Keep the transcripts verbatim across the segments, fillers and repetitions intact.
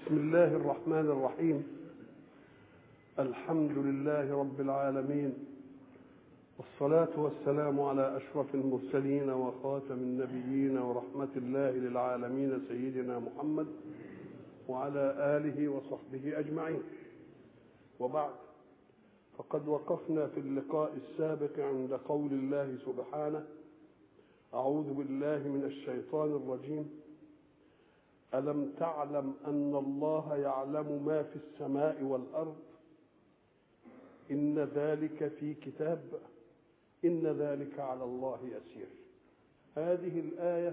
بسم الله الرحمن الرحيم. الحمد لله رب العالمين، والصلاة والسلام على أشرف المرسلين وخاتم النبيين ورحمة الله للعالمين سيدنا محمد وعلى آله وصحبه أجمعين. وبعد، فقد وقفنا في اللقاء السابق عند قول الله سبحانه: أعوذ بالله من الشيطان الرجيم. ألم تعلم أن الله يعلم ما في السماء والأرض إن ذلك في كتاب إن ذلك على الله يسير. هذه الآية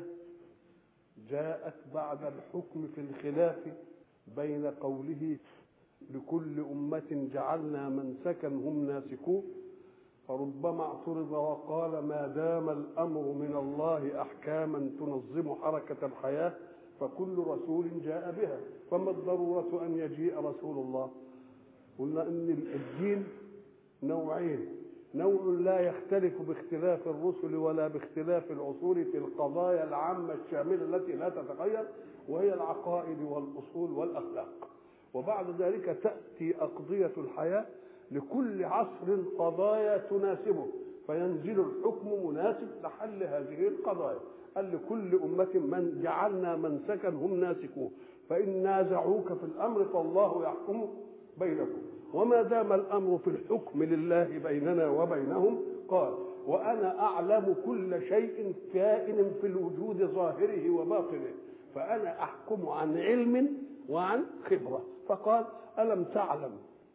جاءت بعد الحكم في الخلاف بين قوله لكل أمة جعلنا منسكا هم ناسكوه، فربما اعترض وقال ما دام الأمر من الله أحكاما تنظم حركة الحياة فكل رسول جاء بها، فما الضرورة أن يجيء رسول الله؟ قلنا أن الدين نوعين: نوع لا يختلف باختلاف الرسل ولا باختلاف العصور في القضايا العامة الشاملة التي لا تتغير، وهي العقائد والأصول والأخلاق. وبعد ذلك تأتي أقضية الحياة لكل عصر قضايا تناسبه، فينزل الحكم مناسب لحل هذه القضايا. قال لكل أمة من جعلنا منسكا هم ناسكوه، فإن نازعوك في الأمر فالله يحكم بينكم. وما دام الأمر في الحكم لله بيننا وبينهم، قال: وأنا أعلم كل شيء كائن في الوجود ظاهره وباطنه، فأنا أحكم عن علم وعن خبرة. فقال: ألم تعلم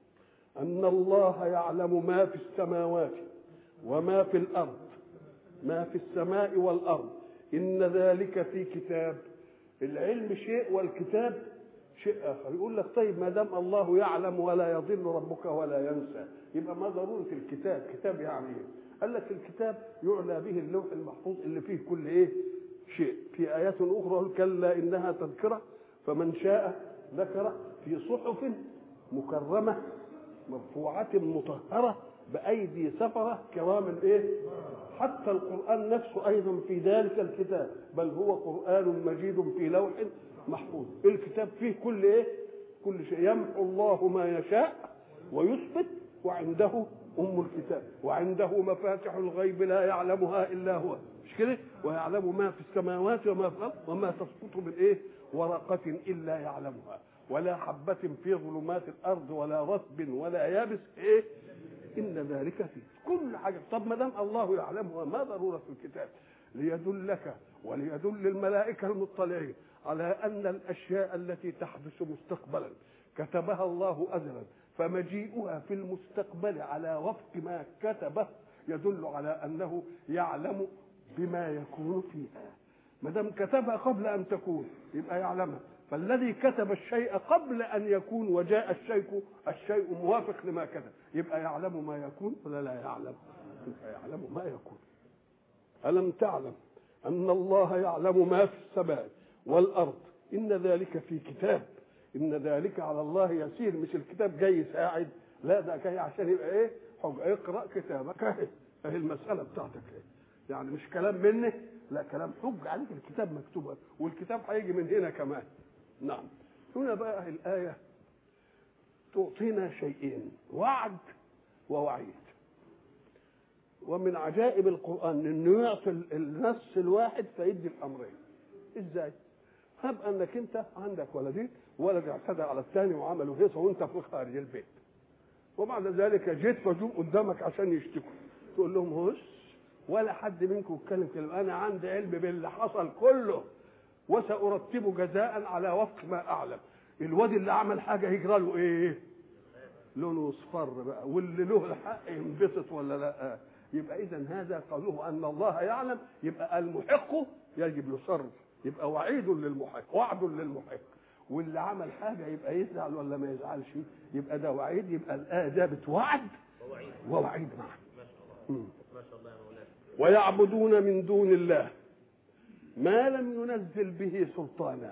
أن الله يعلم ما في السماوات وما في الأرض، ما في السماء والأرض إن ذلك في كتاب. العلم شيء والكتاب شيء آخر. يقول لك طيب ما دام الله يعلم ولا يضل ربك ولا ينسى، يبقى ما ضرورة الكتاب؟ كتاب يعني ايه؟ قال لك الكتاب يعلى به اللوح المحفوظ اللي فيه كل ايه شيء. في آيات أخرى: كلا إنها تذكرة فمن شاء ذكره في صحف مكرمة مرفوعة مطهرة بأيدي سفرة كرام ايه. حتى القرآن نفسه أيضا في ذلك الكتاب، بل هو قرآن مجيد في لوح محفوظ. الكتاب فيه كل ايه كل شيء. يمحو الله ما يشاء ويثبت، وعنده أم الكتاب، وعنده مفاتح الغيب لا يعلمها إلا هو، مش كده؟ ويعلم ما في السماوات وما في الأرض وما تسقط من ايه ورقة إلا يعلمها، ولا حبة في ظلمات الأرض ولا رطب ولا يابس ايه إن ذلك فيه كل حاجة. طب ما دام الله يعلمها ما ضرورة في الكتاب؟ ليدلك وليدل الملائكة المطلعين على أن الأشياء التي تحدث مستقبلا كتبها الله أزلا، فمجيئها في المستقبل على وفق ما كتبه يدل على أنه يعلم بما يكون فيها. ما دام كتبها قبل أن تكون يبقى يعلمها. فالذي كتب الشيء قبل أن يكون وجاء الشيء الشيء موافق لما كتب، يبقى يعلم ما يكون ولا لا يعلم؟ يبقى يعلم ما يكون. ألم تعلم أن الله يعلم ما في السماء والأرض إن ذلك في كتاب إن ذلك على الله يسير. مش الكتاب جاي يساعد، لا، ده جاي عشان يبقى ايه حجة. اقرأ كتابك اهي اهي المسألة بتاعتك اهي. يعني مش كلام مني، لا، كلام حج عليك. الكتاب مكتوب، والكتاب هيجي من هنا كمان. نعم. هنا بقى الآية تعطينا شيئين: وعد ووعيد. ومن عجائب القرآن انه يعطي النص الواحد فيدي الامرين. ازاي؟ هب انك انت عندك ولدين، ولد اعتدى على الثاني وعملوا هيصه وانت في خارج البيت، وبعد ذلك جيت فجوم قدامك عشان يشتكوا، تقول لهم هوش ولا حد منكم يتكلم كلمه، انا عندي علم باللي حصل كله وسأرتب جزاء على وفق ما اعلم. الواد اللي عمل حاجه يجرى له ايه؟ لونه اصفر بقى، واللي له الحق ينبسط ولا لا؟ يبقى اذا هذا قوله ان الله يعلم، يبقى المحق يجب يصرف، يبقى وعيد للمحق، وعد للمحق. واللي عمل حاجه يبقى يزعل ولا ما يزعلش؟ يبقى ده وعيد. يبقى الايه جابت وعد ووعيد ووعيد معا. ما شاء الله يا مولانا. ويعبدون من دون الله ما لم ينزل به سلطانا.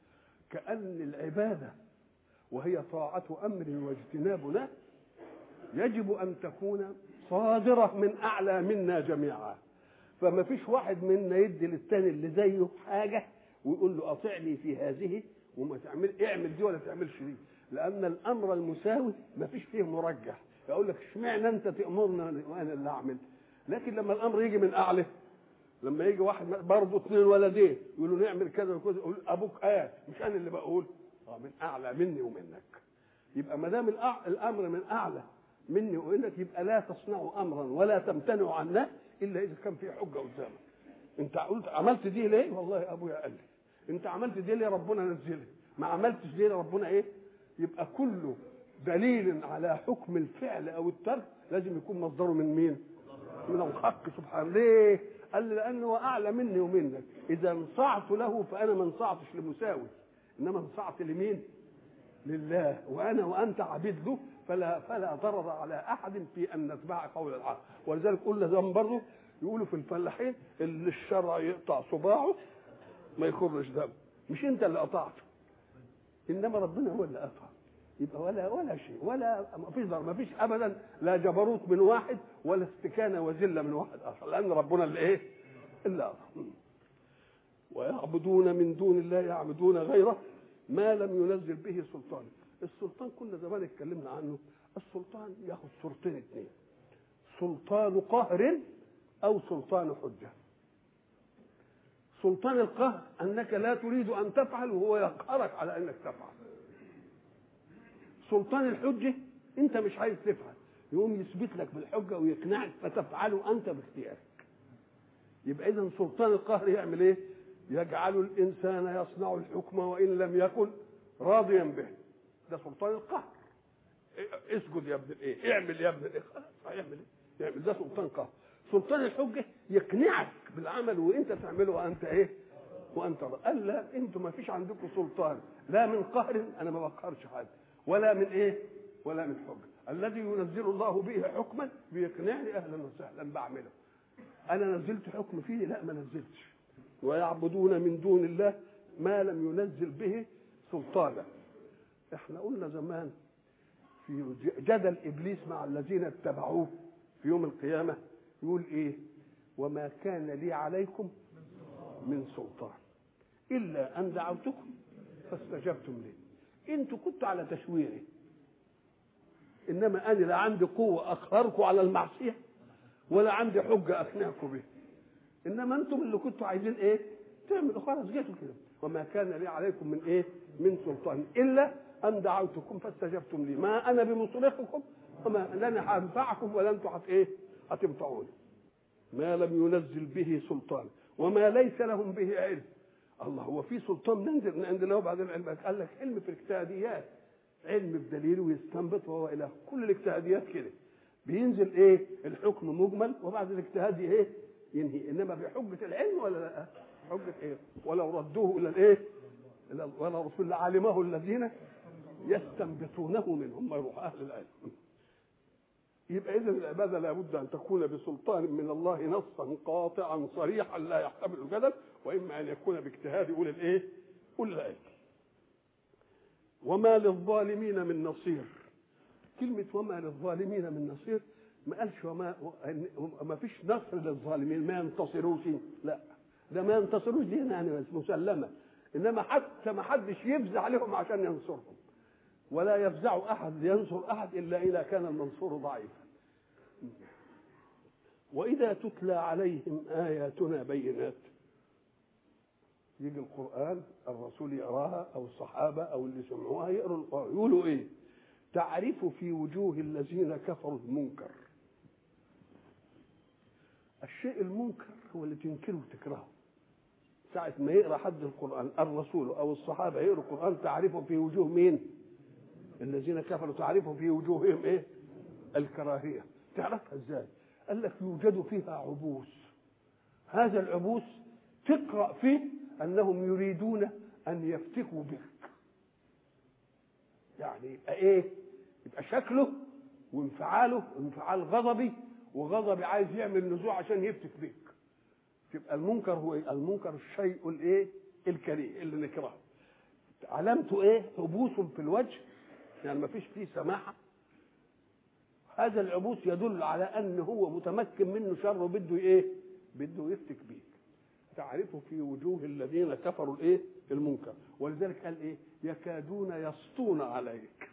كأن العباده وهي طاعة أمر واجتناب له يجب أن تكون صادرة من أعلى منا جميعا. فما فيش واحد منا يدي للتاني اللي زيه حاجة ويقول له أطعني في هذه وما تعمل اعمل دي ولا تعملش دي، لان الامر المساوي ما فيش فيه مرجح. يقول لك اشمعنى انت تامرنا وانا اللي اعمل؟ لكن لما الامر يجي من اعلى، لما يجي واحد برضه اثنين ولدين يقولوا نعمل كذا وكذا، يقول ابوك قال مش انا اللي بقول، اه من اعلى مني ومنك. يبقى ما دام الامر من اعلى مني ومنك يبقى لا تصنعوا امرا ولا تمتنعوا عنه الا اذا كان في حجه قدامك. انت قلت عملت دي ليه؟ والله ابويا قال لي. انت عملت دي ليه؟ ربنا نزلها. ما عملتش دي ربنا ايه؟ يبقى كله دليل على حكم الفعل او الترك لازم يكون مصدره من مين؟ من الحق سبحانه. ليه؟ قال لي لانه اعلى مني ومنك. اذا انصعت له فانا ما انصعتش لمساوي، انما انصعت لمين؟ لله، وانا وانت عبيد له، فلا فلا ضرر على احد في ان نتبع قول الحق. ولذلك قلنا زمان برضه يقولوا في الفلاحين اللي الشرع يقطع صباعه ما يخرج دم، مش انت اللي قطعته، انما ربنا هو اللي قطع. يبقى ولا ولا شيء، ولا ما فيش ضرر، ما فيش ابدا لا جبروت من واحد ولا استكانه وذله من واحد اخر، لان ربنا اللي ايه؟ اللي قطع. ويعبدون من دون الله يعبدون غيره ما لم ينزل به سلطان. السلطان كنا زمان اتكلمنا عنه. السلطان ياخذ صورتين اثنين، سلطان قهر او سلطان حجه. سلطان القهر انك لا تريد ان تفعل وهو يقهرك على انك تفعل. سلطان الحجه انت مش عايز تفعل، يقوم يثبت لك بالحجه ويقنعك فتفعله انت باختيارك. يبقى اذا سلطان القهر يعمل ايه؟ يجعل الانسان يصنع الحكم وان لم يكن راضيا به. ده سلطان القهر. اسجد يا ابن الايه، اعمل يا ابن الايه، خلاص هيعمل ايه؟ يعمل. ده سلطان قهر. سلطان الحجه يقنعك بالعمل وانت تعمله وانت ايه؟ وانت قال لا انتم ما فيش عندكم سلطان لا من قهر، انا ما بقهرش حد، ولا من ايه؟ ولا من حجه. الذي ينزل الله به حكما بيقنعني اهلا وسهلا بعمله. انا نزلت حكم فيه؟ لا ما نزلتش. ويعبدون من دون الله ما لم ينزل به سلطانا. احنا قلنا زمان في جدل ابليس مع الذين اتبعوه في يوم القيامه يقول ايه؟ وما كان لي عليكم من سلطان الا ان دعوتكم فاستجبتم لي. انتوا كنتوا على تشويري، انما انا لا عندي قوه اقهركم على المعصيه ولا عندي حجه اقنعكم به، انما انتم اللي كنتوا عايزين ايه؟ تعملوا. خلاص جيتوا كده. وما كان لي عليكم من ايه؟ من سلطان الا ان دعوتكم فاستجبتم لي. ما انا بمصرخكم وما لن هنفعكم ولا انتم هت ايه؟ هتنفعوني. ما لم ينزل به سلطان وما ليس لهم به علم. الله، هو في سلطان ننزل من عند الله بعد العلم؟ قال لك علم في الاجتهاديات، علم بدليل ويستنبط وهو اله. كل الاجتهاديات كده بينزل ايه؟ الحكم مجمل وبعد الاجتهاد ايه؟ ينهي. انما بحجه العلم ولا لا؟ حجه ايه؟ ولو ردوه الى الايه؟ ولا رسول علمه الذين يستنبطونه منهم، ما يروح اهل العلم. يبقى اذا العباده لابد ان تكون بسلطان من الله نصا قاطعا صريحا لا يحتمل الجدل، واما ان يكون باجتهاد يقول الايه؟ قل العلم. وما للظالمين من نصير. كلمه وما للظالمين من نصير ما قالش وما ما فيش نصر للظالمين، ما ينتصروش، لا ده ما ينتصروش دي يعني مسلمه، انما حتى ما حدش يفزع عليهم عشان ينصرهم، ولا يفزع احد ينصر احد الا اذا كان المنصور ضعيفا. واذا تتلى عليهم اياتنا بينات، يجي القران الرسول يقراها او الصحابه او اللي سمعوها يقروا القران يقولوا ايه؟ تعرف في وجوه الذين كفروا المنكر. الشيء المنكر هو اللي تنكره وتكرهه. ساعة ما يقرأ حد القرآن الرسول أو الصحابة يقرأ القرآن تعرفه في وجوه مين؟ الذين كفروا تعرفه في وجوههم إيه؟ الكراهية. تعرفها إزاي؟ قال لك يوجد فيها عبوس. هذا العبوس تقرأ فيه أنهم يريدون أن يفتكوا بك. يعني يبقى إيه؟ يبقى شكله وانفعاله انفعال غضبي، وغضبي عايز يعمل نزوع عشان يفتك بك. يبقى المنكر هو إيه؟ المنكر الشيء الايه؟ الكريه اللي نكرهه. علامته ايه؟ عبوس في الوجه، يعني ما فيش فيه سماحه. هذا العبوس يدل على ان هو متمكن منه شر وبده ايه؟ بده يفتك بيك. تعرفه في وجوه الذين كفروا الايه؟ المنكر. ولذلك قال ايه؟ يكادون يسطون عليك.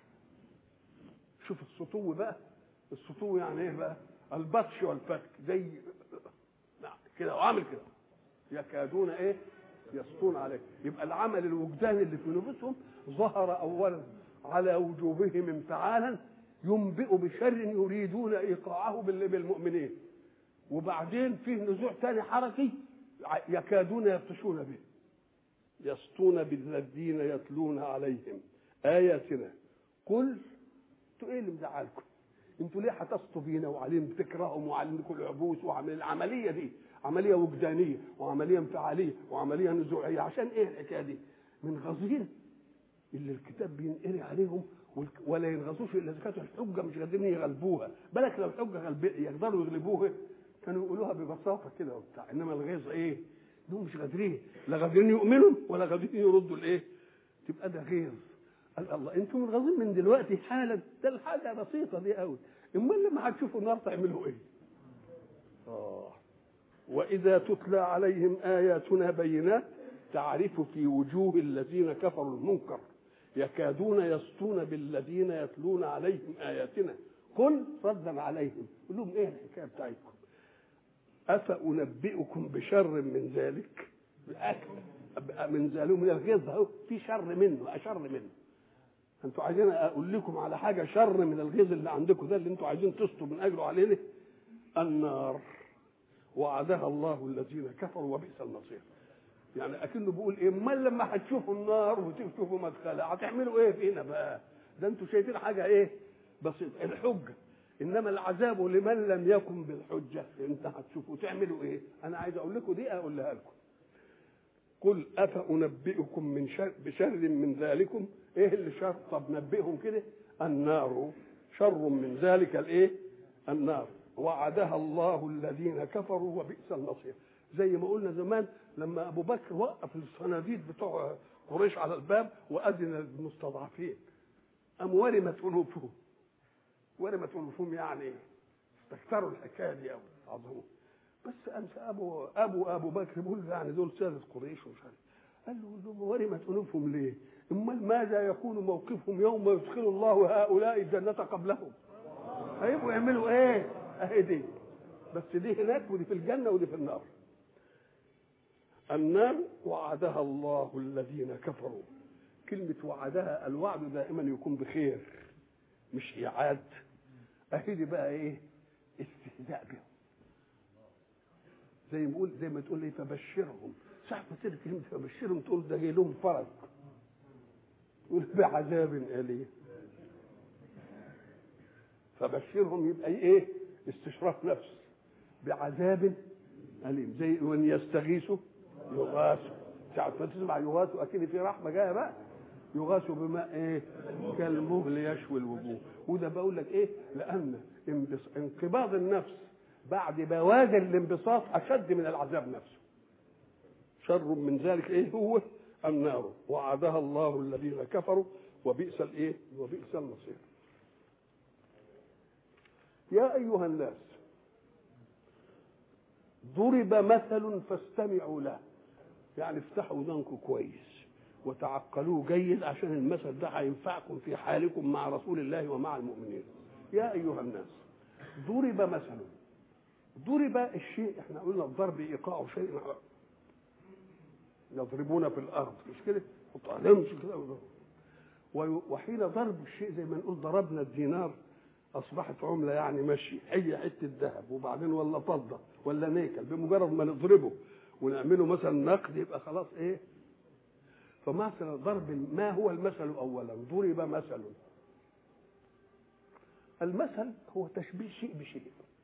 شوف السطو بقى، السطو يعني ايه بقى؟ البطش والفك، زي نعم كده وعامل كده، يكادون ايه يسطون عليك. يبقى العمل الوجداني اللي في نفوسهم ظهر اولا على وجوههم انفعالا ينبئ بشر يريدون ايقاعه بالمؤمنين، وبعدين فيه نزوع ثاني حركي يكادون يبطشون به، يسطون بالذين يتلون عليهم آياتنا. قل انتوا ايه اللي مزعلكم؟ انتوا ليه هتسطوا بينا وعليهم بتكرههم وعليكم العبوس وعمل العمليه دي عمليه وجدانيه وعمليه انفعاليه وعمليه نزوعيه؟ عشان ايه الحكايه دي؟ من غزين اللي الكتاب بينقري عليهم ولا ينغصوش الا اذا كانت الحجه مش قادرين يغلبوها. بالك لو الحجه غلب يقدروا يغلبوها كانوا يقولوها ببساطه كده وبتاع، انما الغيظ ايه؟ دول مش قادرين، لا قادرين يؤمنوا ولا قادرين يردوا الايه؟ تبقى ده غيظ. قال الله انتم منغصين من دلوقتي حالا، ده الحاجه بسيطه دي قوي، امال لما هتشوفوا النار تعملوا ايه؟ اه واذا تتلى عليهم اياتنا بينات تعرف في وجوه الذين كفروا المنكر يكادون يسطون بالذين يتلون عليهم آياتنا. قل ردا عليهم قل لهم ايه الحكايه بتاعتكم؟ أفأنبئكم بشر من ذلك؟ من ذلك من الغيظ اهو في شر منه، اشر منه. انتوا عايزين اقول لكم على حاجه شر من الغيظ اللي عندكم ده اللي انتوا عايزين تسطوا من اجله علينا؟ النار وعدها الله الذين كفروا وبئس المصير. يعني اكنه بيقول ايه؟ امال لما هتشوفوا النار وتشوفوا مدخلها هتعملوا ايه فينا بقى؟ ده انتوا شايفين حاجه ايه بسيطه الحجه، انما العذاب لمن لم يكن بالحجه انت هتشوفوا تعملوا ايه؟ انا عايز اقول لكم دي اقولها لكم. قل افانبئكم من شر بشر من ذلكم. ايه اللي شر؟ طب نبئهم كده. النار شر من ذلك الايه؟ النار وعدها الله الذين كفروا وبئس المصير. زي ما قلنا زمان لما ابو بكر وقف الصناديد بتوع قريش على الباب واذن للمستضعفين ام ورمت انوفهم، ورمت انوفهم يعني استكثروا الحكايه دي قوي عظموا. بس امس ابو ابو ابو بكر بيقول يعني دول ساده قريش ومش عارف، قال له ورمت انوفهم ليه؟ امال ماذا يكون موقفهم يوم يدخل الله هؤلاء الجنه قبلهم؟ هيبقوا يعملوا ايه؟ اهي دي بس دي هناك ودي في الجنه ودي في النار. النار وعدها الله الذين كفروا. كلمة وعدها، الوعد دائما يكون بخير مش إيعاد. أهدي بقى إيه؟ استهزاء بهم. زي ما يقول زي ما تقول لي فبشرهم، ساعة ما تقول كلمة فبشرهم تقول ده جاي لهم فرج، تقول بعذاب أليم. فبشرهم يبقى إيه؟ استشراف نفس بعذاب أليم. زي وإن يستغيثوا يغاثوا، ساعة ما تسمع يغاثوا أكيد في رحمة جاية بقى. يغاثوا بماء إيه؟ كالمهل يشوي الوجوه. وده بقول لك إيه؟ لأن انقباض النفس بعد بوادر الانبساط أشد من العذاب نفسه. شر من ذلك إيه هو؟ النار وعدها الله الذين كفروا وبئس الإيه؟ وبئس المصير. يا أيها الناس ضرب مثل فاستمعوا له. يعني افتحوا ودانكم كويس وتعقلوه جيد عشان المثل ده هينفعكم في حالكم مع رسول الله ومع المؤمنين. يا ايها الناس ضرب مثل. ضرب الشيء احنا قلنا الضرب ايقاع شيء يضربون في الارض مش كده؟ وطالمش كده. وحين ضرب الشيء زي ما نقول ضربنا الدينار اصبحت عمله يعني ماشي، هي حته ذهب وبعدين ولا فضه ولا نيكل، بمجرد ما نضربه ونعمله مثلا نقد يبقى خلاص ايه. فمثلا ضرب ما هو المثل اولا؟ ضرب مثل. المثل هو تشبيه شيء بشيء،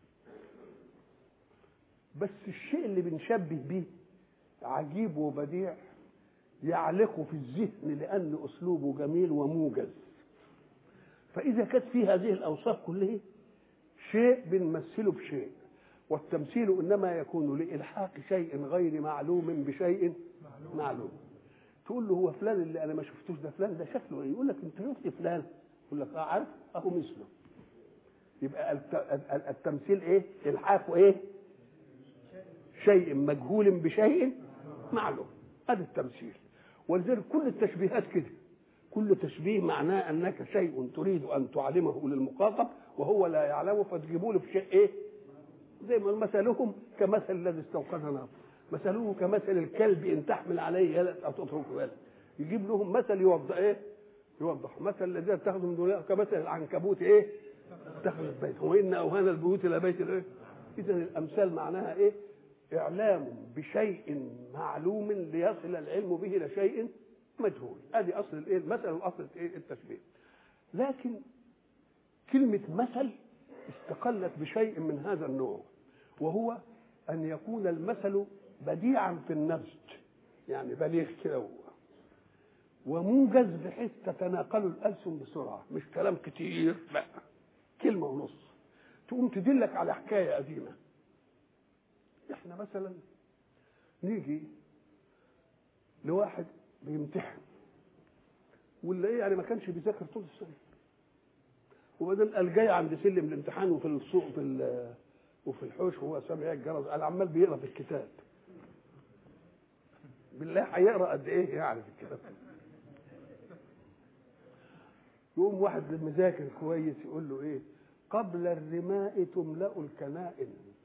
بس الشيء اللي بنشبه به عجيب وبديع يعلق في الذهن لأن أسلوبه جميل وموجز. فإذا كانت فيه هذه الأوصاف كلها شيء بنمثله بشيء، والتمثيل إنما يكون لإلحاق شيء غير معلوم بشيء معلوم. تقول له هو فلان اللي أنا ما شفتوش ده فلان ده شكله إيه؟ يقول لك أنت شفت فلان؟ يقول لك أه عارف أهو مثله. يبقى التمثيل إيه؟ إلحاقه إيه؟ شيء مجهول بشيء معلوم. هذا التمثيل. ولذلك كل التشبيهات كده كل تشبيه معناه انك شيء تريد ان تعلمه للمخاطب وهو لا يعلمه، فتجيبوا له في شيء ايه؟ زي ما مثلهم كمثل الذي استوقد نارا، مثله كمثل الكلب ان تحمل عليه يلد او تتركه يلد. يجيب لهم مثل يوضح ايه؟ يوضح مثل الذين اتخذوا من دونها كمثل العنكبوت ايه؟ اتخذت بيت وان اوهان البيوت لبيت الايه؟ اذا الامثال معناها ايه؟ اعلام بشيء معلوم ليصل العلم به الى شيء مجهول. ادي اصل الايه؟ المثل واصل ايه؟ التشبيه. لكن كلمه مثل استقلت بشيء من هذا النوع، وهو ان يكون المثل بديعا في النبذ، يعني بليغ كده وموجز بحيث تتناقل الالسن بسرعه، مش كلام كتير، لا كلمه ونص تقوم تدلك على حكايه قديمه. احنا مثلا نيجي لواحد بيمتحن ولا ايه، يعني ما كانش بيذاكر طول السنه، وبعدين قال جاي عند سلم الامتحان وفي السوق في وفي الحوش وهو سامع الجرس قال عمال بيقرا في الكتاب. بالله هيقرا قد ايه يعني في الكتاب؟ يقوم واحد مذاكر كويس يقول له ايه؟ قبل الرماء تملأ الكنائن.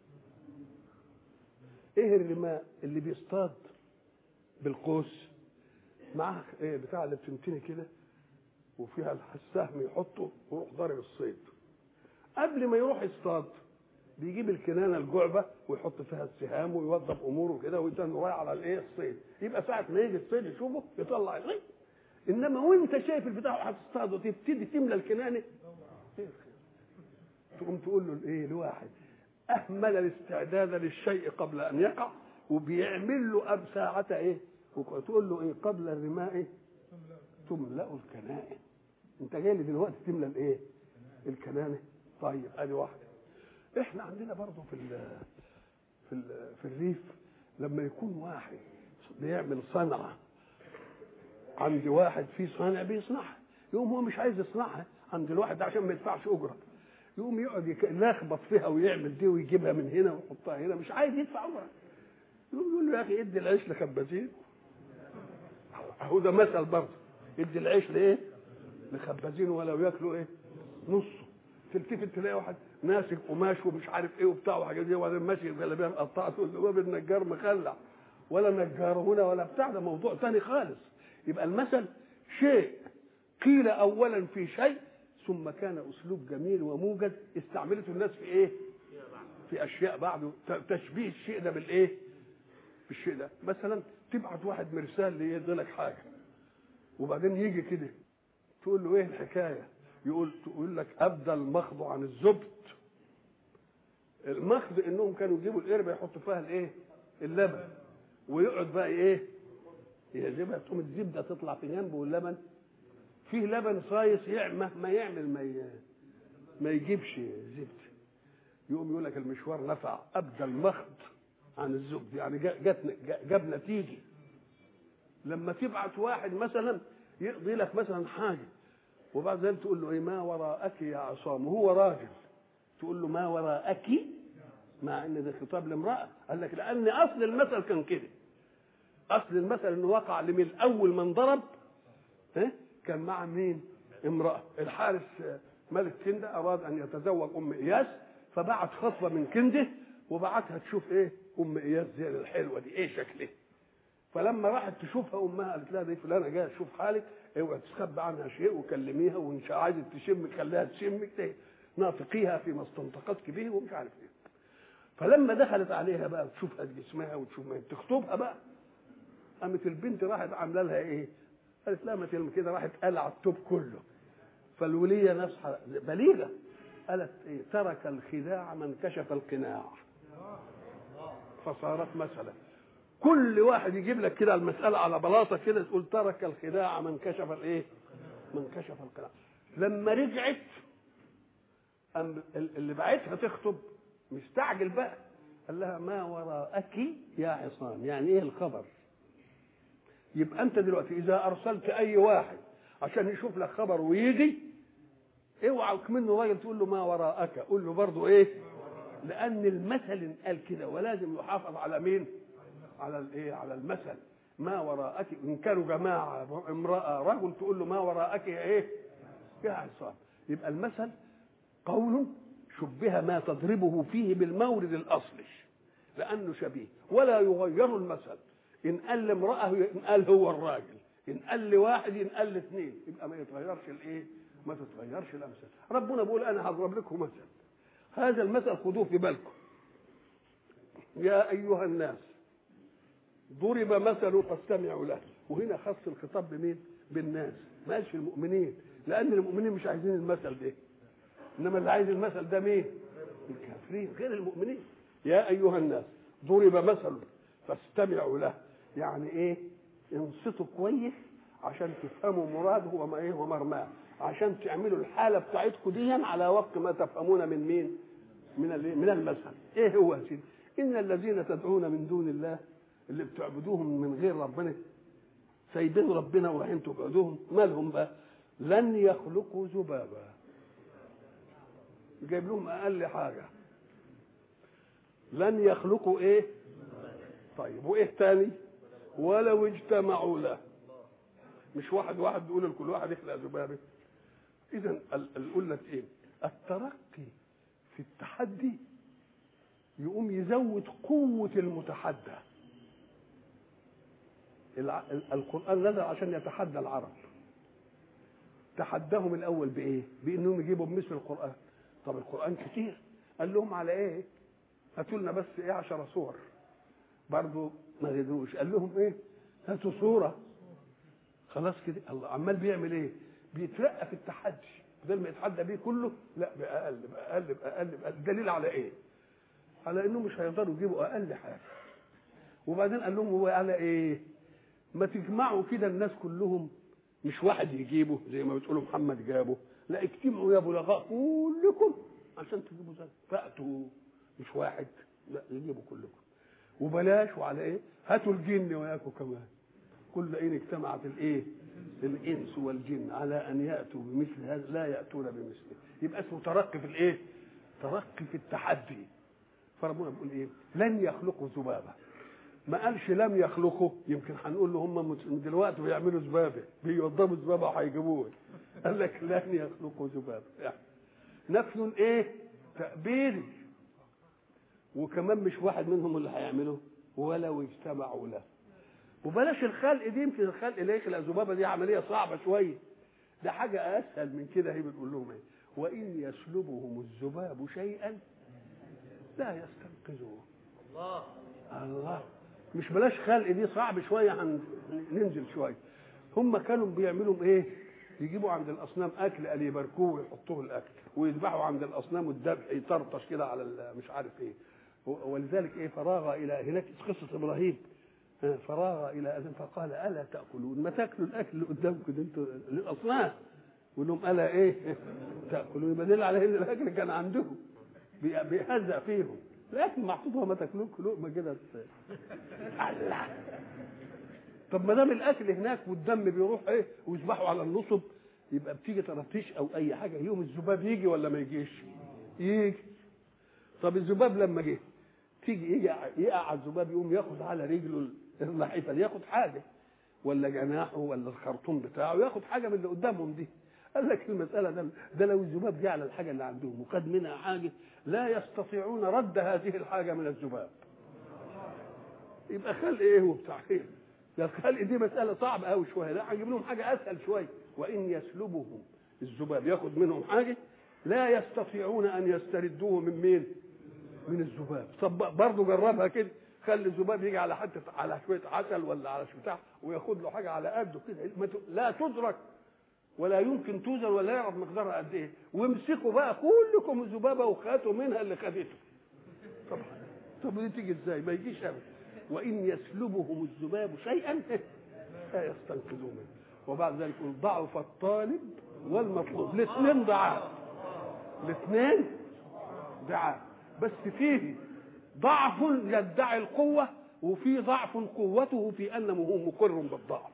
ايه الرماء؟ اللي بيصطاد بالقوس معاه ايه بتاع اللي بتمتني كده وفيها السهم يحطه ويروح ضارب الصيد. قبل ما يروح يصطاد بيجيب الكنانه الجعبه ويحط فيها السهام ويوظف اموره كده ويتن رايح على الايه الصيد. يبقى ساعه ما يجي الصيد يشوفه يطلع الغي. انما وانت شايف البتاع هتصطاد وتبتدي تملى الكنانه تقوم تقول له الايه لواحد اهمل الاستعداد للشيء قبل ان يقع وبيعمل له اب ساعه ايه، وتقول له ايه؟ قبل الرماء تملأ الكنائن. انت جاي لي دلوقتي تملى الايه؟ الكنانه. طيب ادي واحده. احنا عندنا برضه في ال في ال في الريف لما يكون واحد بيعمل صنعه عند واحد في صانع بيصنعها، يقوم هو مش عايز يصنعها عند الواحد ده عشان ما يدفعش اجره، يقوم يقعد يلخبط فيها ويعمل دي ويجيبها من هنا ويحطها هنا، مش عايز يدفع اجره. يقوم يقول له يا اخي ادي العيش لخبازين. اهو ده مثل برضه، ادي العيش لايه؟ لخبازين ولو ياكلوا ايه؟ نصه. تلتفت تلاقي واحد ماسك قماش ومش عارف ايه وبتاع وحاجات دي وبعدين ماشي الجلابيه مقطعه تقول له باب النجار مخلع ولا نجار هنا ولا بتاع، ده موضوع ثاني خالص. يبقى المثل شيء قيل اولا في شيء ثم كان اسلوب جميل وموجز استعملته الناس في ايه؟ في اشياء بعده، تشبيه الشيء ده بالايه؟ بالشيء ده. مثلا تبعت واحد مرسال ليدي لك حاجه وبعدين يجي كده تقول له ايه الحكايه؟ يقول تقول لك ابدى المخض عن الزبد. المخض انهم كانوا يجيبوا القربه يحطوا فيها الايه؟ اللبن ويقعد بقى ايه؟ يجيبها تقوم الزبده تطلع في جنبه واللبن فيه لبن صايص مهما يعمل ما ما يجيبش زبده. يقوم يقول لك المشوار نفع، ابدى المخض عن الزبد، يعني جت جاب نتيجه. لما تبعت واحد مثلا يقضي لك مثلا حاجه وبعد ذلك تقول له ايه؟ ما وراءك يا عصام، وهو راجل تقول له ما وراءك، مع ان ده خطاب لامراه. قال لك لان اصل المثل كان كده، اصل المثل انه وقع لمن اول من ضرب ها كان مع مين؟ امراه. الحارس ملك كنده اراد ان يتزوج ام اياس فبعت خطبه من كنده وبعتها تشوف ايه ام اياس دي الحلوه دي ايه شكلها. فلما راحت تشوفها امها قالت لها دي فلانه جايه تشوف حالك، اوعي تخبي عنها شيء وكلميها وان شاء عايزه تشمك خليها تشمك ناطقيها فيما استنطقتك به ومش عارف ايه. فلما دخلت عليها بقى تشوف جسمها وتشوف ما تخطبها بقى، قامت البنت راحت عامله لها ايه؟ قالت لها ما تلم كده، راحت قلع التوب كله. فالوليه نصحى بليغه قالت ايه؟ ترك الخداع من كشف القناع. فصارت مساله كل واحد يجيب لك كده المساله على بلاطه كده تقول ترك الخداع من كشف الايه؟ من كشف القناع. لما رجعت اللي بعتها تخطب مستعجل بقى قال لها ما وراءك يا عصام، يعني ايه الخبر؟ يبقى انت دلوقتي اذا ارسلت اي واحد عشان يشوف لك خبر ويجي اوعى منه راجل تقول له ما وراءك، قول له برضه ايه؟ لان المثل قال كده ولازم يحافظ على مين؟ على الايه؟ على المثل. ما وراءك، إن كانوا جماعة امرأة رجل تقول له ما وراءك ايه يا عصام. يبقى المثل قول شبه ما تضربه فيه بالمورد الأصلي لأنه شبيه، ولا يغير المثل. إن قال لامرأة ينقال هو الراجل، إن قال لواحد ينقال لاثنين، يبقى ما يتغيرش الايه، ما تتغيرش الأمثال. ربنا بيقول أنا هضرب لكم مثل، هذا المثل خذوه في بالكم. يا أيها الناس ضرب مثل فاستمعوا له. وهنا خص الخطاب بمين؟ بالناس، ما قالش المؤمنين، لأن المؤمنين مش عايزين المثل ده، إنما اللي عايز المثل ده مين؟ الكافرين غير المؤمنين. يا أيها الناس ضرب مثل فاستمعوا له، يعني إيه؟ انصتوا كويس عشان تفهموا مراده وما إيه ومرماه، عشان تعملوا الحالة بتاعتكم دي على وقت ما تفهمون من مين؟ من من المثل. إيه هو يا سيدي؟ إن الذين تدعون من دون الله، اللي بتعبدوهم من غير ربنا، سايبين ربنا ورايحين تعبدوهم، مالهم بقى؟ لن يخلقوا ذبابا. جايب لهم اقل حاجه، لن يخلقوا ايه؟ طيب وايه تاني؟ ولو اجتمعوا له. مش واحد واحد بيقول لكل واحد يخلق ذبابه. اذا اقول لك ايه؟ الترقي في التحدي يقوم يزود قوه المتحدى. القرآن نزل عشان يتحدى العرب، تحداهم الأول بإيه؟ بإنهم يجيبوا بمثل القرآن. طب القرآن كتير، قال لهم على إيه؟ هاتوا لنا بس إيه عشر صور، برضه ما قدروش. قال لهم إيه؟ هاتوا صورة. خلاص كده الله عمال بيعمل إيه؟ بيترقى في التحدي، بدل ما يتحدى بيه كله لا بأقل بأقل بأقل بأقل. دليل على إيه؟ على إنهم مش هيقدروا يجيبوا أقل حاجة. وبعدين قال لهم هو على إيه؟ ما تجمعوا كده الناس كلهم، مش واحد يجيبه زي ما بتقولوا محمد جابه، لا اجتمعوا يا بلغاء كلكم عشان تجيبوا زي فأتوا، مش واحد، لا يجيبوا كلكم. وبلاش وعلى ايه؟ هاتوا الجن وياكم كمان، كل ان اجتمعت الايه؟ الانس والجن على ان ياتوا بمثل هذا لا ياتون بمثله. يبقى اسمه ترقي في الايه؟ ترقي في التحدي. فربنا بيقول ايه؟ لن يخلقوا ذبابه. ما قالش لم يخلقوا، يمكن هنقول له هم دلوقتي بيعملوا ذبابه، بيوضبوا ذبابه وهيجيبوه. قال لك لن يخلقوا ذبابه، يعني نفي ايه؟ تأبيري. وكمان مش واحد منهم اللي هيعمله، ولو اجتمعوا له. وبلاش الخلق دي، يمكن الخلق اللي يخلق ذبابه دي عمليه صعبه شويه، ده حاجه اسهل من كده. هي بتقول لهم ايه؟ وان يسلبهم الذباب شيئا لا يستنقذوه. الله الله، مش بلاش خلق دي صعب شويه، هننزل شويه. هم كانوا بيعملوا ايه؟ يجيبوا عند الاصنام اكل قال يباركوه ويحطوه الاكل، ويذبحوا عند الاصنام والذبح يطرطش كده على مش عارف ايه. ولذلك ايه؟ فراغ الى هناك قصه ابراهيم، فراغ الى اذن فقال الا تاكلون؟ ما تاكلوا الاكل اللي قدامكم ده انتوا للاصنام. يقول لهم الا ايه تاكلون؟ يبقى على ان الاكل كان عندهم بيهزأ فيهم، الاكل محطوط وما تاكلوه لقمه كده. الله، طب ما دام الاكل هناك والدم بيروح ايه ويذبحوا على النصب، يبقى بتيجي ترتيش او اي حاجه يوم الذباب يجي ولا ما يجيش؟ يجي. طب الذباب لما جه تيجي يجي يقع الذباب يقوم ياخد على رجله اللحيفه ياخد حاجه، ولا جناحه ولا الخرطوم بتاعه ياخد حاجه من اللي قدامهم دي. قال لك المساله ده ده لو الذباب جه على الحاجه اللي عندهم وخد منها حاجه لا يستطيعون رد هذه الحاجه من الذباب. يبقى خلق ايه وبتاع ايه؟ ده الخلق دي مساله صعبه قوي شويه، لا هنجيب لهم حاجه اسهل شويه. وان يسلبهم الذباب ياخد منهم حاجه لا يستطيعون ان يستردوه من مين؟ من الذباب. طب برضه جربها كده، خلي الذباب يجي على حته على شويه عسل ولا على بتاع وياخد له حاجه على قده كده لا تدرك ولا يمكن توزن ولا يعرف مقدارها قد ايه، وامسكوا بقى كلكم الذبابه وخاتوا منها اللي خدته. طب طب دي تيجي ازاي؟ ما يجيش ابدا. وان يسلبهم الذباب شيئا لا يستنقذوه منه. وبعد ذلك يقول ضعف الطالب والمطلوب، الاثنين ضعاف، الاثنين ضعاف، بس فيه ضعف يدعي القوه وفي ضعف قوته في انه هو مقر بالضعف.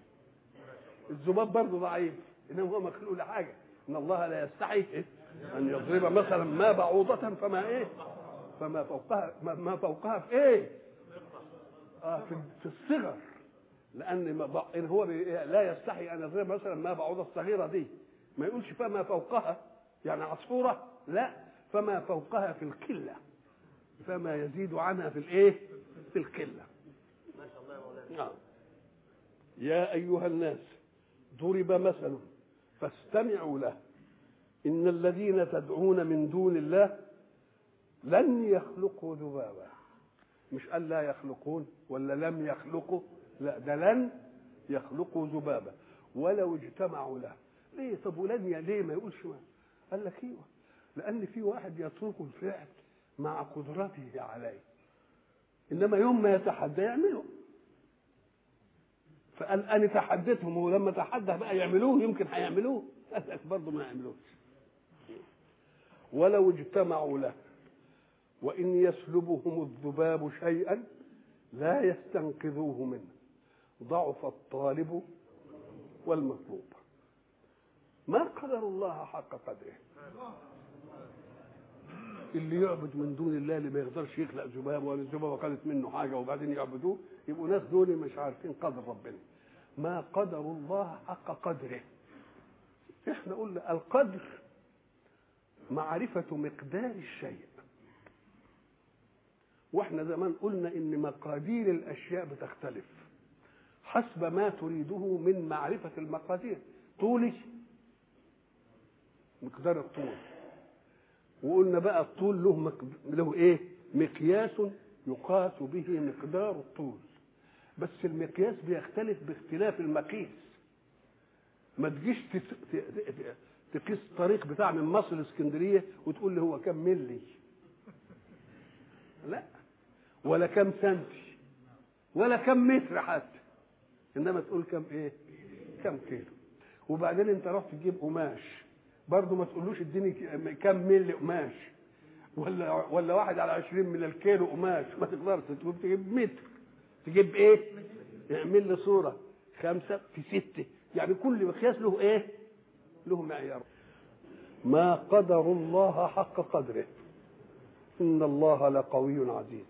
الذباب برضه ضعيف انما هو مخلوق لحاجه، ان الله لا يستحي ان يضرب مثلا ما بعوضه فما ايه فما فوقها ما فوقها في ايه اه في, في الصغر. لان إن هو لا يستحي ان يضرب مثلا ما بعوضه الصغيره دي، ما يقولش فما فوقها يعني عصفوره، لا، فما فوقها في القله، فما يزيد عنها في الايه؟ في القله. ما شاء الله يا مولانا. يا ايها الناس ضرب مثل فاستمعوا له ان الذين تدعون من دون الله لن يخلقوا ذبابا. مش قال لا يخلقون ولا لم يخلقوا، لا، ده لن يخلقوا ذبابا ولو اجتمعوا له. ليه؟ طب ولن ليه ما يقولش ما؟ قال لك ايوه، لان في واحد يترك الفعل مع قدرته عليه، انما يوم ما يتحدى يعمله. فقال انا تحديتهم، ولما تحدى بقى يعملوه يمكن هيعملوه، قال لك برضه ما يعملوش. ولو اجتمعوا له وان يسلبهم الذباب شيئا لا يستنقذوه منه، ضعف الطالب والمطلوب. ما قدر الله حق قدره. اللي يعبد من دون الله اللي ما يقدرش يخلق ذباب ولا الذبابه قالت منه حاجه وبعدين يعبدوه، يبقوا ناس دول مش عارفين قدر ربنا. ما قدر الله حق قدره. احنا قلنا القدر معرفه مقدار الشيء، واحنا زمان قلنا ان مقادير الاشياء بتختلف حسب ما تريده من معرفه المقادير. طولي مقدار الطول، وقلنا بقى الطول له مقد... له ايه؟ مقياس يقاس به مقدار الطول، بس المقياس بيختلف باختلاف المقيس. ما تجيش تت... ت... تقيس الطريق بتاع من مصر لاسكندريه وتقول لي هو كم ملي، لا، ولا كم سنتي ولا كم متر حتى، انما تقول كم ايه؟ كم كيلو. وبعدين انت رحت تجيب قماش برضه ما تقولوش اديني كم ملي قماش، ولا ولا واحد على عشرين من الكيلو قماش، ما تقدرش تقول تجيب متر، تجيب ايه؟ اعمل لي صوره خمسه في سته، يعني كل مقياس له ايه؟ له معيار. ما قدر الله حق قدره ان الله لقوي عزيز.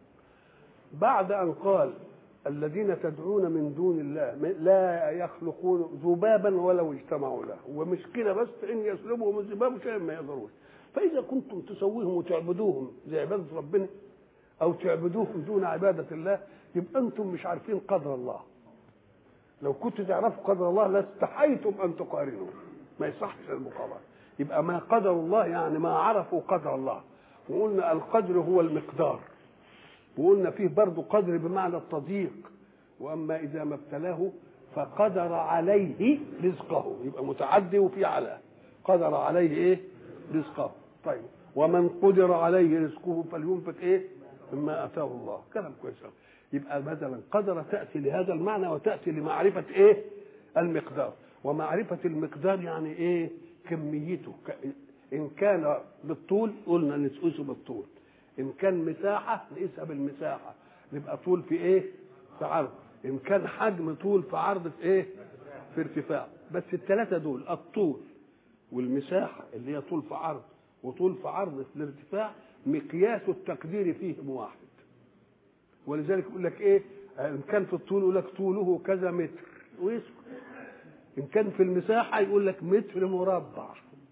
بعد ان قال الذين تدعون من دون الله لا يخلقون ذبابا ولو اجتمعوا له، ومش كده بس، ان يسلبهم الذباب شيئا ما يقدروش. فاذا كنتم تسويهم وتعبدوهم زي عباده ربنا او تعبدوهم دون عباده الله، يبقى انتم مش عارفين قدر الله. لو كنتوا تعرفوا قدر الله لاستحيتم ان تقارنوا، ما يصحش المقارنه. يبقى ما قدر الله يعني ما عرفوا قدر الله. وقلنا القدر هو المقدار، وقلنا فيه برضه قدر بمعنى التضييق. واما اذا ما ابتلاه فقدر عليه رزقه، يبقى متعدي وفي على قدر عليه ايه؟ رزقه. طيب ومن قدر عليه رزقه فلينفق ايه؟ مما اتاه الله. كلام كويس. يبقى مثلا قدر تاتي لهذا المعنى وتاتي لمعرفه ايه؟ المقدار. ومعرفه المقدار يعني ايه؟ كميته. ان كان بالطول قلنا نقيسه بالطول، ان كان مساحه نقيسها بالمساحه، نبقى طول في ايه؟ في عرض. ان كان حجم طول في عرض في ايه؟ في ارتفاع. بس الثلاثه دول الطول والمساحه اللي هي طول في عرض وطول في عرض في الارتفاع مقياس التقدير فيهم واحد. ولذلك يقول لك ايه؟ ان كان في الطول يقول لك طوله كذا متر ويسكت. ان كان في المساحه يقول لك متر مربع.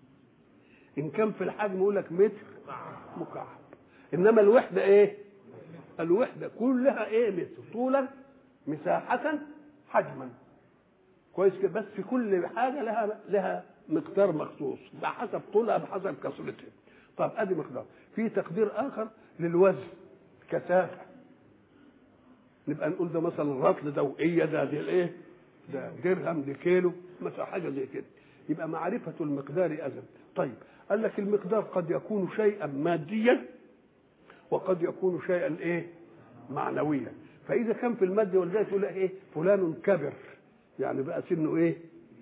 ان كان في الحجم يقول لك متر مكعب. انما الوحده ايه؟ الوحده كلها ايه؟ متر، طولا مساحه حجما. كويس كده. بس في كل حاجه لها لها مقدار مخصوص بحسب طولها بحسب كثرتها. طب ادي مقدار. في تقدير اخر للوزن، كثافه، نبقى نقول ده مثلا رطل دوئيه، ده دي الايه؟ ده درهم، دي كيلو، مثلا حاجه زي كده. يبقى معرفه المقدار اذن. طيب قال لك المقدار قد يكون شيئا ماديا وقد يكون شيئا ايه؟ معنويا. فاذا كان في المادة ولذلك يقول لك ايه؟ فلان كبر، يعني بقى سنه ايه؟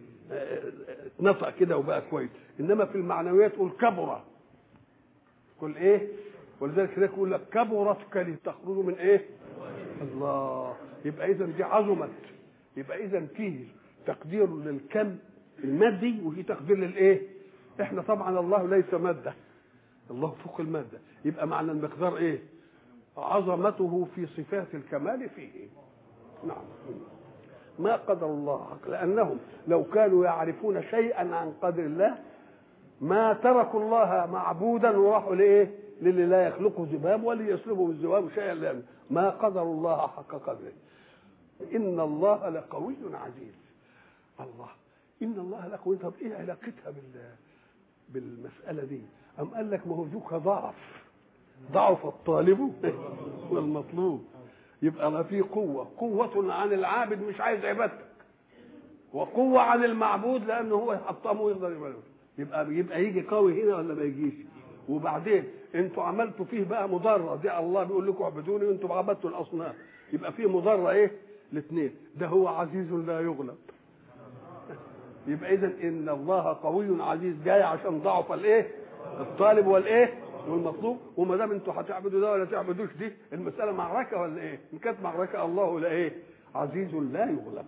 اتنطق كده وبقى كويس. انما في المعنويات تقول كبر، كل ايه؟ ولذلك كده يقول لك كبرت كلمة تخرج من ايه؟ الله. يبقى اذا دي عظمت. يبقى اذا فيه تقدير للكم المادي وفي تقدير للايه؟ احنا طبعا الله ليس ماده، الله فوق الماده. يبقى معنى المقدار ايه؟ عظمته في صفات الكمال فيه. نعم. ما قدر الله حق، لأنهم لو كانوا يعرفون شيئا عن قدر الله ما تركوا الله معبودا وراحوا لإيه؟ للي لا يخلقه ذباب ولي يسلبه الذباب شيئا، لأن ما قدر الله حق قدره. إن الله لقوي عزيز. الله إن الله لقوي. طب إيه علاقتها بال بالمسألة دي؟ أم قال لك ما هو ذوك ضعف، ضعف الطالب والمطلوب. يبقى ما في قوة، قوة عن العابد مش عايز عبادتك، وقوة عن المعبود لأنه هو يحطمه ويقدر يعمله. يبقى يبقى يجي قوي هنا ولا ما يجيش؟ وبعدين انتوا عملتوا فيه بقى مضرة دي، الله بيقول لكم اعبدوني وانتوا عبدتوا الأصنام، يبقى فيه مضرة ايه؟ الاثنين. ده هو عزيز لا يغلب. يبقى إذن إن الله قوي عزيز جاي عشان ضعف الايه؟ الطالب والايه؟ والمطلوب. وما دام انتوا هتعبدوا ده ولا تعبدوش دي، المسألة معركة ولا ايه؟ إن كانت معركة الله لا ايه؟ عزيز لا يغلب.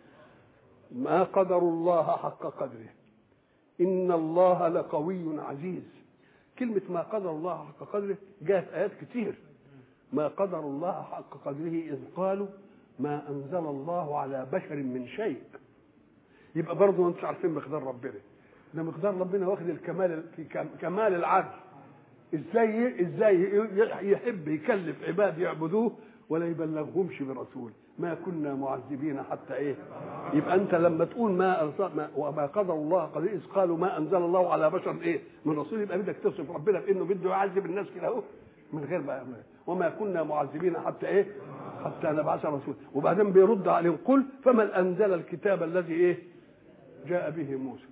ما قدر الله حق قدره. إن الله لقوي عزيز. كلمة ما قدر الله حق قدره جاءت آيات كتير. ما قدر الله حق قدره إذ قالوا ما أنزل الله على بشر من شيء. يبقى برضه انتوا عارفين مقدار ربنا، ده مقدار ربنا واخد الكمال في كمال العدل. ازاي ازاي يحب يكلف عباد يعبدوه ولا يبلغهمش برسول؟ ما كنا معذبين حتى ايه. يبقى انت لما تقول ما وما قدر الله قدر اذ قالوا ما انزل الله على بشر ايه من رسول، يبقى بدك تصف ربنا بانه بده يعذب الناس كده اهو من غير بقى. وما كنا معذبين حتى ايه حتى نبعث رسول. وبعدين بيرد عليهم قل فمن انزل الكتاب الذي ايه جاء به موسى.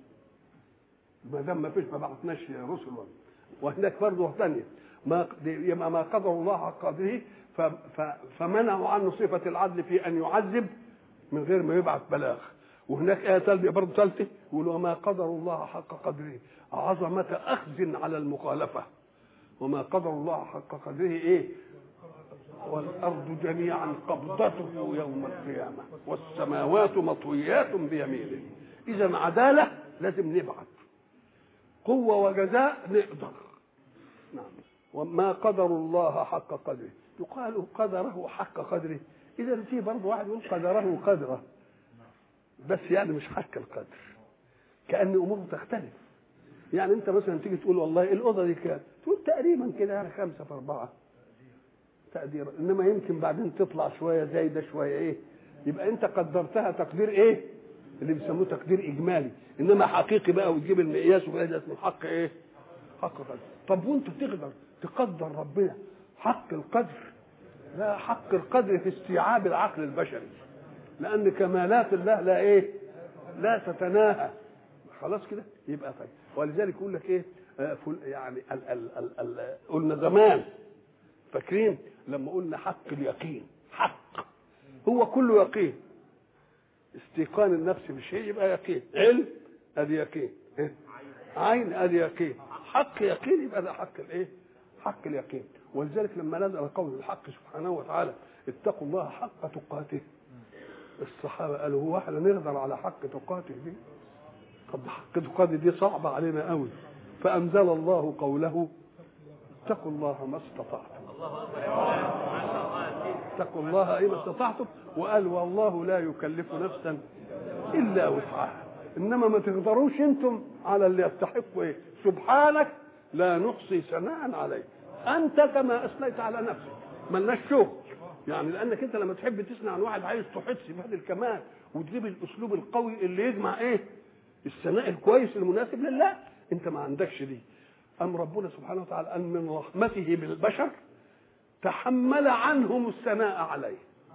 ما دام ما فيش ما بعثناش رسل. وهناك برضه ثانيه ما ما قدر الله حق قدره فمنعوا عنه صفه العدل في ان يعذب من غير ما يبعث بلاغ. وهناك ايه ثالثه برضه ثالثه يقولوا وما قدر الله حق قدره عظمه اخذ على المخالفه. وما قدر الله حق قدره ايه والارض جميعا قبضته يوم القيامه والسماوات مطويات بيمينه. اذا عداله لازم نبعث، قوه وجزاء نقدر. نعم. وما قدر الله حق قدره. يقال قدره حق قدره، اذا في برضه واحد يقول قدره قدره بس يعني مش حق القدر، كأن اموره تختلف. يعني انت مثلا تيجي تقول والله الاوضه دي كام، تقول تقريبا كده يعني خمسة في أربعة تقدير، انما يمكن بعدين تطلع شويه زايده شويه ايه، يبقى انت قدرتها تقدير ايه اللي بيسموه تقدير اجمالي. انما حقيقي بقى وتجيب المقياس وكده اسمه حق ايه حق قدر. طب وانت تقدر تقدر ربنا حق القدر؟ لا، حق القدر في استيعاب العقل البشري، لان كمالات الله لا ايه لا تتناهى. خلاص كده يبقى طيب. ولذلك يقول لك ايه آه يعني ال ال ال ال قلنا زمان فاكرين لما قلنا حق اليقين، حق هو كله يقين. استيقان النفس بالشيء يبقى يقين، علم ادي يقين، عين ادي يقين، حق يقين يبقى ده حق الايه حق اليقين. ولذلك لما نزل قول الحق سبحانه وتعالى اتقوا الله حق تقاته، الصحابه قالوا هو احنا نقدر على حق تقاته دي؟ طب حق تقاته دي صعبه علينا قوي. فانزل الله قوله اتقوا الله ما استطعتم. اتقوا الله اي ما استطعتم. وقال والله لا يكلف نفسا الا وسعها. انما ما تقدروش انتم على اللي يستحقوا ايه. سبحانك لا نحصي ثناء عليك انت كما اثنيت على نفسك. ملناش شغل يعني، لانك انت لما تحب تثني عن واحد عايز تحس بهذا الكمال وتجيب الاسلوب القوي اللي يجمع ايه الثناء الكويس المناسب لله. انت ما عندكش دي. ام ربنا سبحانه وتعالى ان من رحمته بالبشر تحمل عنهم الثناء عليه،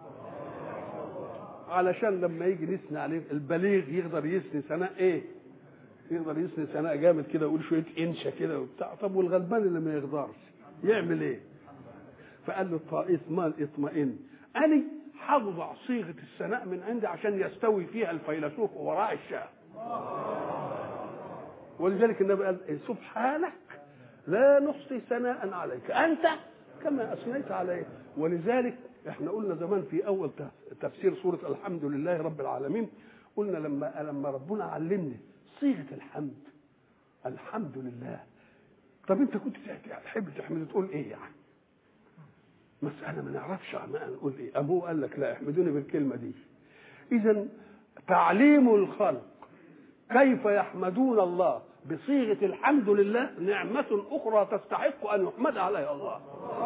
علشان لما يجي نثني عليه البليغ يقدر يثني ثناء ايه يقدر يثني ثناء جامد كده ويقول شويه انشا كده وبتاع. طب والغلبان اللي ما يقدرش يعمل ايه؟ فقال له اطمئن اطمئن اني هوضع صيغه الثناء من عندي عشان يستوي فيها الفيلسوف وراء الشاه. ولذلك النبي قال سبحانك لا نحصي ثناء عليك انت كما اثنيت عليه. ولذلك احنا قلنا زمان في اول تفسير سوره الحمد لله رب العالمين، قلنا لما لما ربنا علمني صيغه الحمد الحمد لله. طب انت كنت تحب تحمد تقول ايه يعني؟ مساله ما نعرفش ما نقول ايه. ابوه قال لك لا احمدوني بالكلمه دي. إذن تعليم الخلق كيف يحمدون الله بصيغة الحمد لله نعمة أخرى تستحق أن يحمد عليها الله.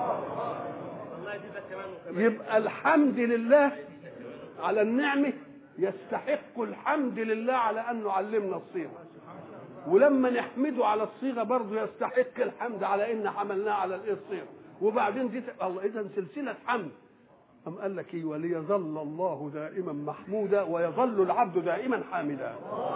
يبقى الحمد لله على النعمة يستحق الحمد لله على أنه علمنا الصيغة، ولما نحمده على الصيغة برضه يستحق الحمد على أن حملناه على الصيغة. وبعدين دي الله إذن سلسلة حمد. أم قال لك إيه؟ وليظل الله دائما محمودا ويظل العبد دائما حامدا.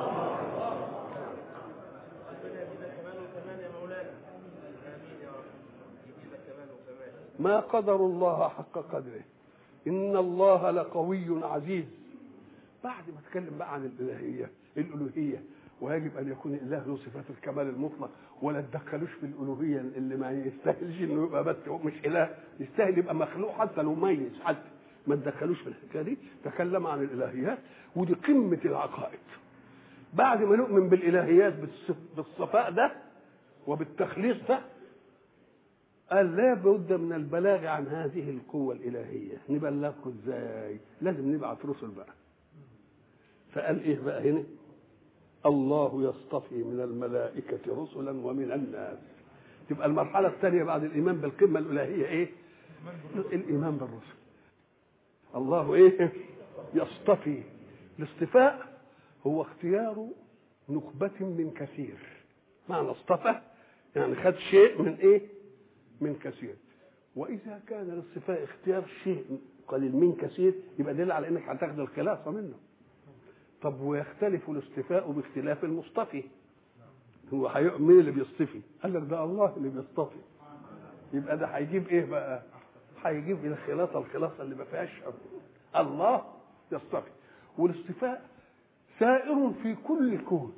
ما قدر الله حق قدره إن الله لقوي عزيز. بعد ما اتكلم بقى عن الإلهية الألوهية ويجب أن يكون الإله له صفات الكمال المطلق ولا تدخلوش في الألوهية اللي ما يستاهلش إنه يبقى بس مش إله، يستاهل يبقى مخلوق حتى لو ميز حتى ما تدخلوش في الحكاية دي. تكلم عن الإلهيات ودي قمة العقائد. بعد ما نؤمن بالإلهيات بالصفاء ده وبالتخليص ده قال لا بد من البلاغ عن هذه القوة الإلهية. نبلغكم ازاي؟ لازم نبعث رسل بقى. فقال ايه بقى هنا؟ الله يصطفي من الملائكة رسلا ومن الناس. تبقى المرحلة الثانية بعد الإيمان بالقمة الإلهية ايه؟ الإيمان بالرسل. الله ايه؟ يصطفي. الاصطفاء هو اختيار نخبة من كثير. معنى اصطفى يعني خد شيء من ايه؟ من كثير. واذا كان الاصطفاء اختيار شيء قليل من كثير يبقى دليل على انك هتاخد الخلاصه منه. طب ويختلف الاصطفاء باختلاف المصطفي. هو مين اللي بيصطفي؟ قال لك ده الله اللي بيصطفي. يبقى ده هيجيب ايه بقى؟ هيجيب الخلاصه الخلاصه اللي ما فيهاش الله يصطفي. والاصطفاء سائر في كل الكون.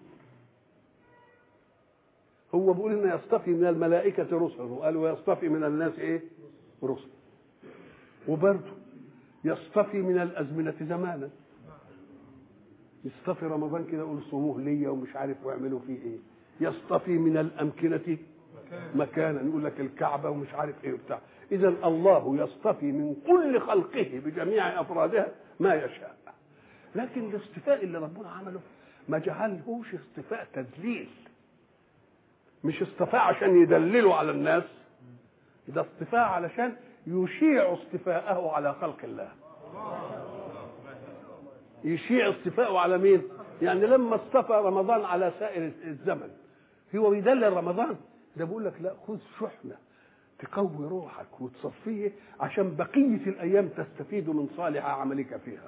هو بيقول انه يصطفي من الملائكه رسلا وقال ويصطفي من الناس ايه؟ رسل. وبرضه يصطفي من الازمنه زمانا. يصطفي رمضان كده يقول صوموه ليا ومش عارف واعملوا فيه ايه. يصطفي من الامكنه مكانا يقول لك الكعبه ومش عارف ايه وبتاع. اذا الله يصطفي من كل خلقه بجميع افرادها ما يشاء. لكن الاصطفاء اللي ربنا عمله ما جعلهوش اصطفاء تذليل. مش اصطفاء عشان يدللوا على الناس، ده اصطفاء علشان يشيع اصطفاءه على خلق الله. يشيع اصطفاءه على مين؟ يعني لما اصطفى رمضان على سائر الزمن هو بيدلل رمضان؟ ده بيقول لك لا، خذ شحنه تقوي روحك وتصفيه عشان بقيه الايام تستفيد من صالح عملك فيها.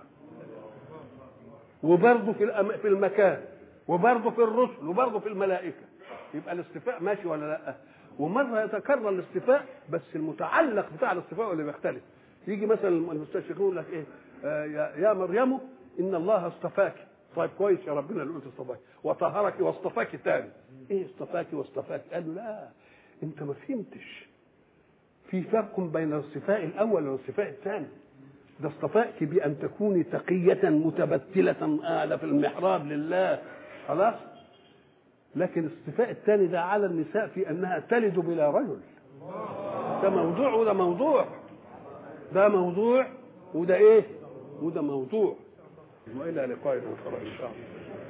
وبرضه في في المكان وبرضه في الرسل وبرضه في الملائكه. يبقى الاصطفاء ماشي ولا لا؟ ومره يتكرر الاصطفاء بس المتعلق بتاع الاصطفاء اللي بيختلف. يجي مثلا المستشرقون يقول لك ايه؟ آه يا مريم ان الله اصطفاك. طيب كويس يا ربنا اللي قلت اصطفاك وطهرك واصطفاك تاني. ايه اصطفاك واصطفاك؟ قالوا لا انت ما فهمتش. في فرق بين الاصطفاء الاول والاصطفاء الثاني. ده اصطفاك بان تكوني تقيه متبتله قاعده في المحراب لله خلاص. لكن الاصطفاء الثاني ده على النساء في انها تلد بلا رجل. ده موضوع وده موضوع. ده موضوع وده ايه؟ وده موضوع. والى لقاء اخر ان شاء الله.